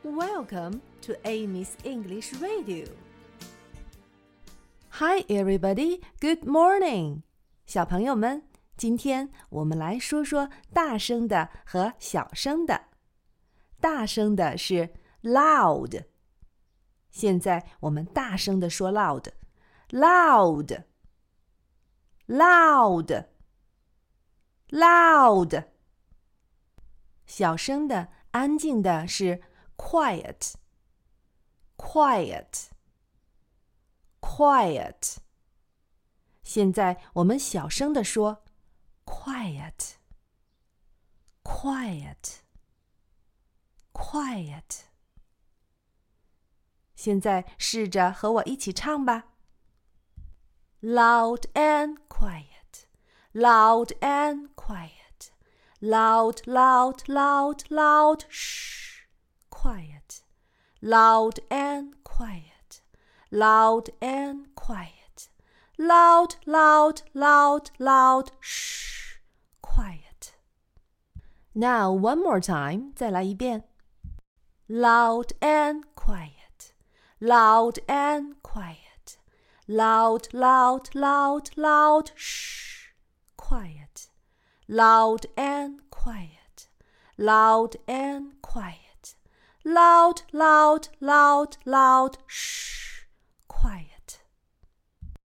Welcome to Amy's English Radio. Hi, everybody. Good morning. 小朋友们，今天我们来说说大声的和小声的。大声的是 loud。现在我们大声的说 loud. Loud. Loud. Loud. 小声的安静的是 quiet. Quiet. Quiet. 现在我们小声的说 quiet. Quiet. Quiet. 现在试着和我一起唱吧。Loud and quiet. Loud and quiet. Loud, loud, loud, loud. Shh. Quiet. Loud and quiet. Loud and quiet. Loud, loud, loud, loud. Shh. Quiet. Now one more time. 再来一遍。Loud and quiet. Loud and quiet. Loud, loud, loud, loud. Shh. Quiet. Loud and quiet. Loud and quiet. Loud, loud, loud, loud. Shh. Quiet.